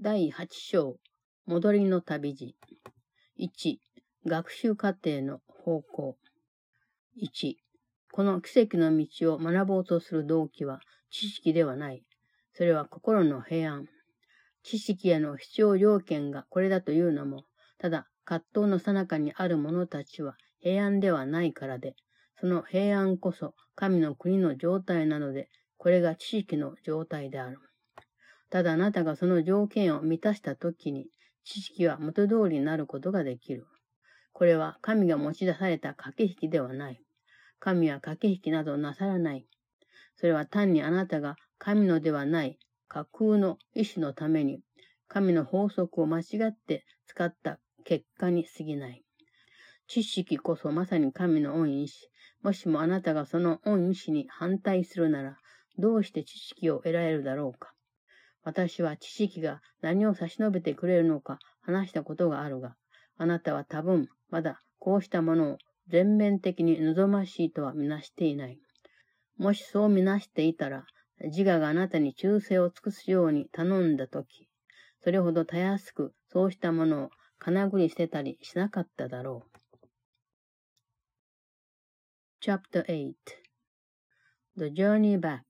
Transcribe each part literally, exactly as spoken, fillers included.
だいはち章、戻りの旅路。いち、学習過程の方向。いち、この奇跡の道を学ぼうとする動機は知識ではない。それは心の平安。知識への必要条件がこれだというのも、ただ葛藤の最中にある者たちは平安ではないからで、その平安こそ神の国の状態なので、これが知識の状態である。ただあなたがその条件を満たしたときに、知識は元通りになることができる。これは神が持ち出された駆け引きではない。神は駆け引きなどなさらない。それは単にあなたが神のではない架空の意志のために、神の法則を間違って使った結果に過ぎない。知識こそまさに神の御意志。もしもあなたがその御意志に反対するなら、どうして知識を得られるだろうか。私は知識が何を差し伸べてくれるのか話したことがあるが、あなたは多分まだこうしたものを全面的に望ましいとはみなしていない。もしそうみなしていたら、自我があなたに忠誠を尽くすように頼んだとき、それほどたやすくそうしたものをかなぐり捨てたりしなかっただろう。Chapter eight The Journey Back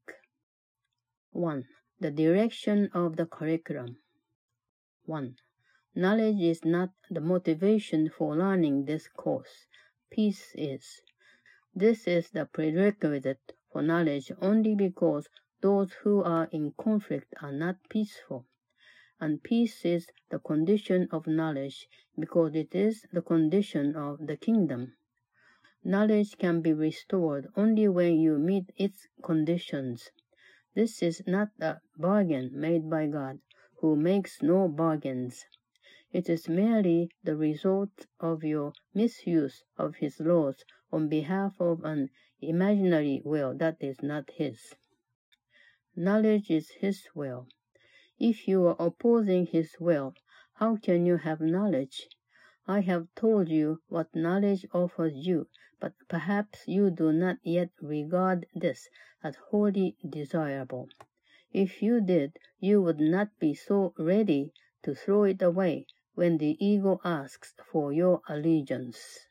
one. The direction of the curriculum. one. Knowledge is not the motivation for learning this course. Peace is. This is the prerequisite for knowledge only because those who are in conflict are not peaceful. And peace is the condition of knowledge because it is the condition of the kingdom. Knowledge can be restored only when you meet its conditions.This is not a bargain made by God, who makes no bargains. It is merely the result of your misuse of his laws on behalf of an imaginary will that is not his. Knowledge is his will. If you are opposing his will, how can you have knowledge? I have told you what knowledge offers you, but perhaps you do not yet regard this as wholly desirable. If you did, you would not be so ready to throw it away when the ego asks for your allegiance.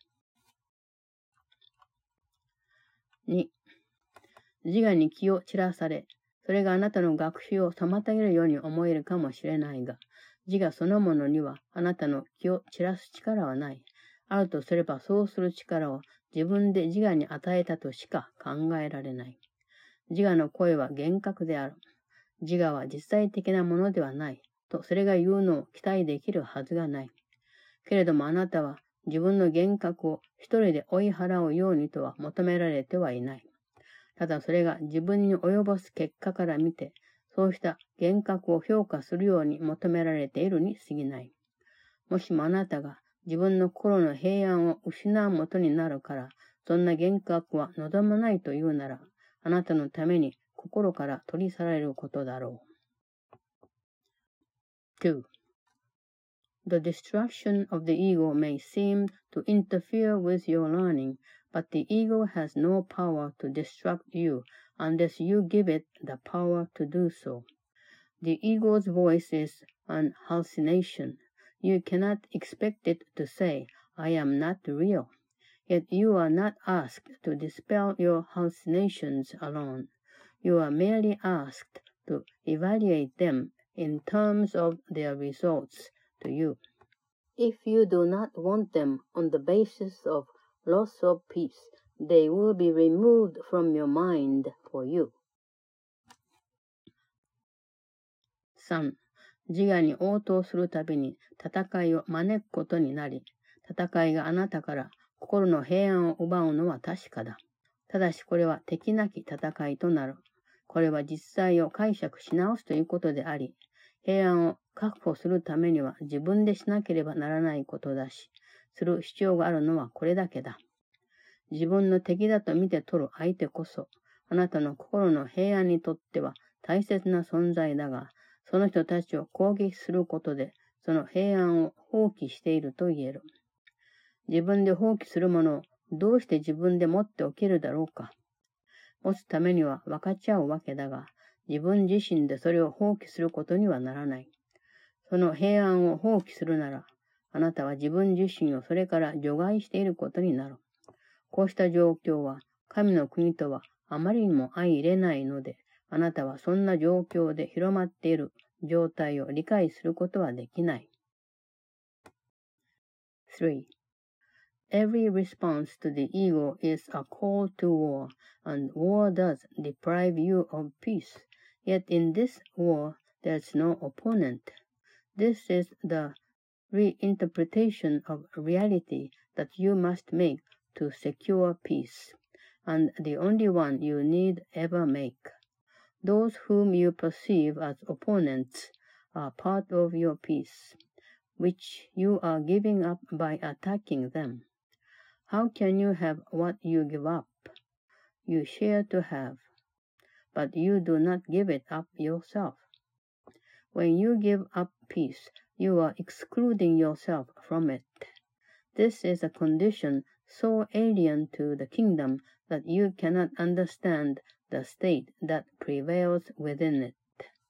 に. 自我に気を散らされ、それがあなたの学習を妨げるように思えるかもしれないが、自我そのものにはあなたの気を散らす力はない。あるとすればそうする力を自分で自我に与えたとしか考えられない。自我の声は厳格である。自我は実際的なものではない。とそれが言うのを期待できるはずがない。けれどもあなたは自分の厳格を一人で追い払うようにとは求められてはいない。ただそれが自分に及ぼす結果から見て、そうした厳格を評価するように求められているに過ぎない。もしもあなたが自分の心の平安を失うもとになるから、そんな厳格は望まないというなら、あなたのために心から取り去られることだろう。two. The destruction of the ego may seem to interfere with your learning, but the ego has no power to destruct you unless you give it the power to do so. The ego's voice is an hallucination. You cannot expect it to say, I am not real. Yet you are not asked to dispel your hallucinations alone. You are merely asked to evaluate them in terms of their results to you. If you do not want them on the basis of loss of peace, they will be removed from your mind for you. さん. 自我に応答するたびに戦いを招くことになり、戦いがあなたから心の平安を奪うのは確かだ。ただしこれは敵なき戦いとなる。これは実際を解釈し直すということであり、平安を確保するためには自分でしなければならないことだし、する必要があるのはこれだけだ。自分の敵だと見て取る相手こそ、あなたの心の平安にとっては大切な存在だが、その人たちを攻撃することで、その平安を放棄していると言える。自分で放棄するものをどうして自分で持っておけるだろうか。持つためには分かち合うわけだが、自分自身でそれを放棄することにはならない。 その平安を放棄するなら、あなたは自分自身をそれから除外していることになる。こうした状況は、神の国とはあまりにも相入れないので、あなたはそんな状況で広まっている状態を理解することはできない。three. Every response to the ego is a call to war, and war does deprive you of peace. Yet in this war, there's no opponent. This is the reinterpretation of reality that you must make to secure peace, and the only one you need ever make. Those whom you perceive as opponents are part of your peace, which you are giving up by attacking them. How can you have what you give up? You share to have, but you do not give it up yourself. When you give up peace, you are excluding yourself from it. This is a condition so alien to the kingdom that you cannot understand the state that prevails within it.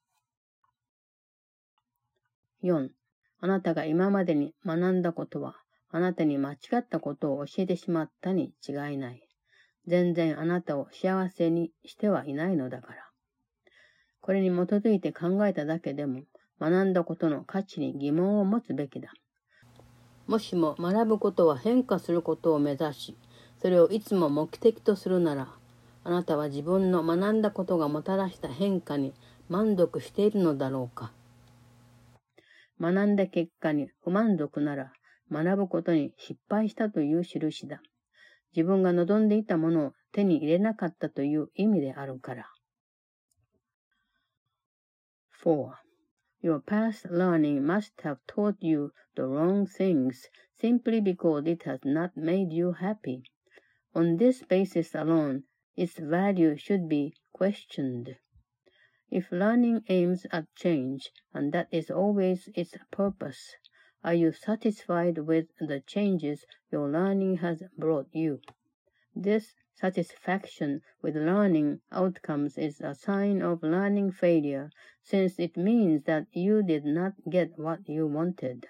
よん. あなたが今までに学んだことは、あなたに間違ったことを教えてしまったに違いない。全然あなたを幸せにしてはいないのだから。これに基づいて考えただけでも、学んだことの価値に疑問を持つべきだ。もしも学ぶことは変化することを目指し、それをいつも目的とするなら、あなたは自分の学んだことがもたらした変化に満足しているのだろうか。学んだ結果に不満足なら、学ぶことに失敗したという印だ。自分が望んでいたものを手に入れなかったという意味であるから。four. Your past learning must have taught you the wrong things simply because it has not made you happy. On this basis alone, its value should be questioned. If learning aims at change, and that is always its purpose, are you satisfied with the changes your learning has brought you? This satisfaction with learning outcomes is a sign of learning failure, since it means that you did not get what you wanted.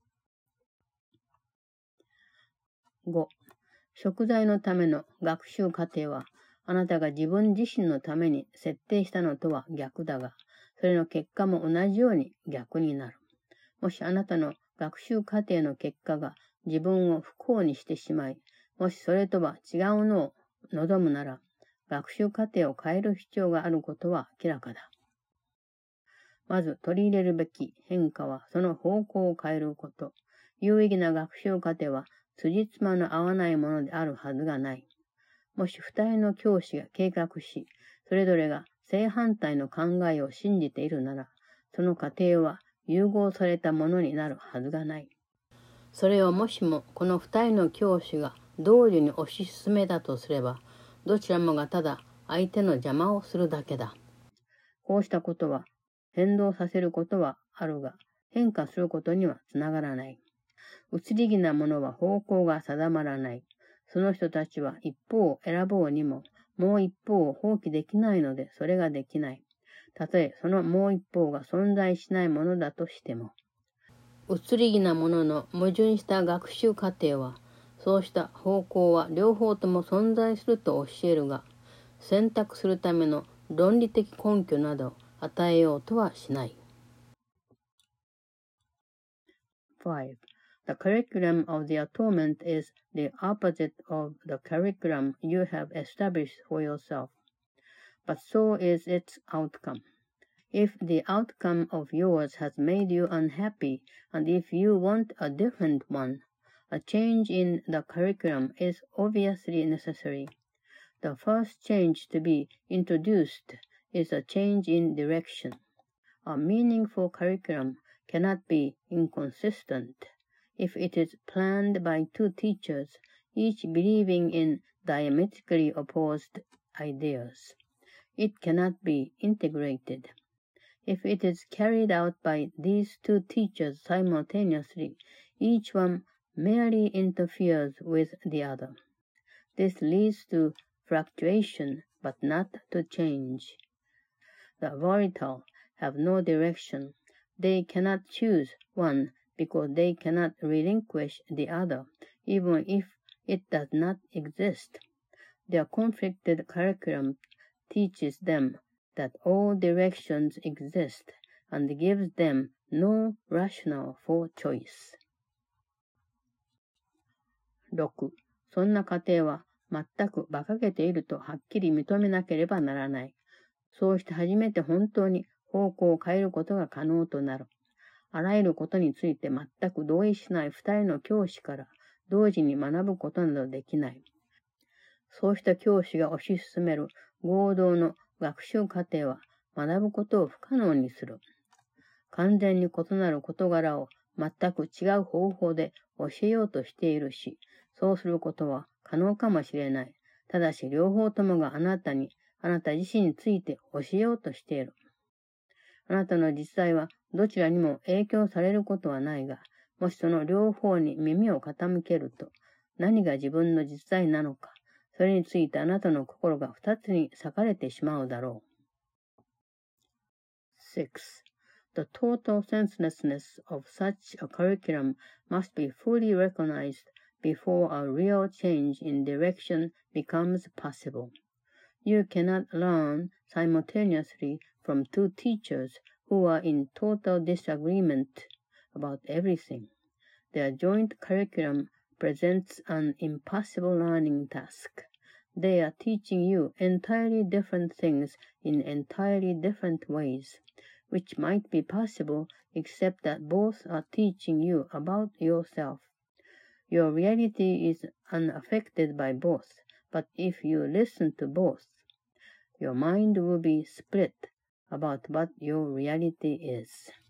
ご. 贖罪のための学習過程は、あなたが自分自身のために設定したのとは逆だが、それの結果も同じように逆になる。もしあなたの学習過程の結果が自分を不幸にしてしまい、もしそれとは違うのを望むなら、学習過程を変える必要があることは明らかだ。まず取り入れるべき変化はその方向を変えること。有意義な学習過程は辻褄の合わないものであるはずがない。もし二人の教師が計画し、それぞれが正反対の考えを信じているなら、その過程は融合されたものになるはずがない。それをもしもこの二人の教師が同時に推し進めたとすれば、どちらもがただ相手の邪魔をするだけだ。こうしたことは変動させることはあるが、変化することにはつながらない。移り気なものは方向が定まらない。その人たちは一方を選ぼうにも、もう一方を放棄できないので、それができない。たとえそのもう一方が存在しないものだとしても。移り気なものの矛盾した学習過程は、そうした方向は両方とも存在すると教えるが、選択するための論理的根拠などを与えようとはしない。five. The curriculum of the atonement is the opposite of the curriculum you have established for yourself, but so is its outcome. If the outcome of yours has made you unhappy, and if you want a different one, a change in the curriculum is obviously necessary. The first change to be introduced is a change in direction. A meaningful curriculum cannot be inconsistent if it is planned by two teachers, each believing in diametrically opposed ideas. It cannot be integrated. If it is carried out by these two teachers simultaneously, each one merely interferes with the other. This leads to fluctuation, but not to change. The volatile have no direction, They cannot choose one because they cannot relinquish the other, even if it does not exist. Their conflicted curriculum teaches them that all directions exist and gives them no rationale for choice. ろく. そんな過程は全く馬鹿げているとはっきり認めなければならない。そうして初めて本当に方向を変えることが可能となる。あらゆることについて全く同意しない二人の教師から同時に学ぶことなどできない。そうした教師が推し進める合同の学習過程は学ぶことを不可能にする。完全に異なる事柄を全く違う方法で教えようとしているし、そうすることは可能かもしれない。ただし両方ともがあなたに、あなた自身について教えようとしている。あなたの実際はどちらにも影響されることはないが、もしその両方に耳を傾けると、何が自分の実在なのか、それについてあなたの心が二つに裂かれてしまうだろう。six. The total senselessness of such a curriculum must be fully recognized before a real change in direction becomes possible. You cannot learn simultaneously from two teachers who are in total disagreement about everything. Their joint curriculum presents an impossible learning task. They are teaching you entirely different things in entirely different ways, which might be possible except that both are teaching you about yourself. Your reality is unaffected by both, but if you listen to both, your mind will be split about what your reality is.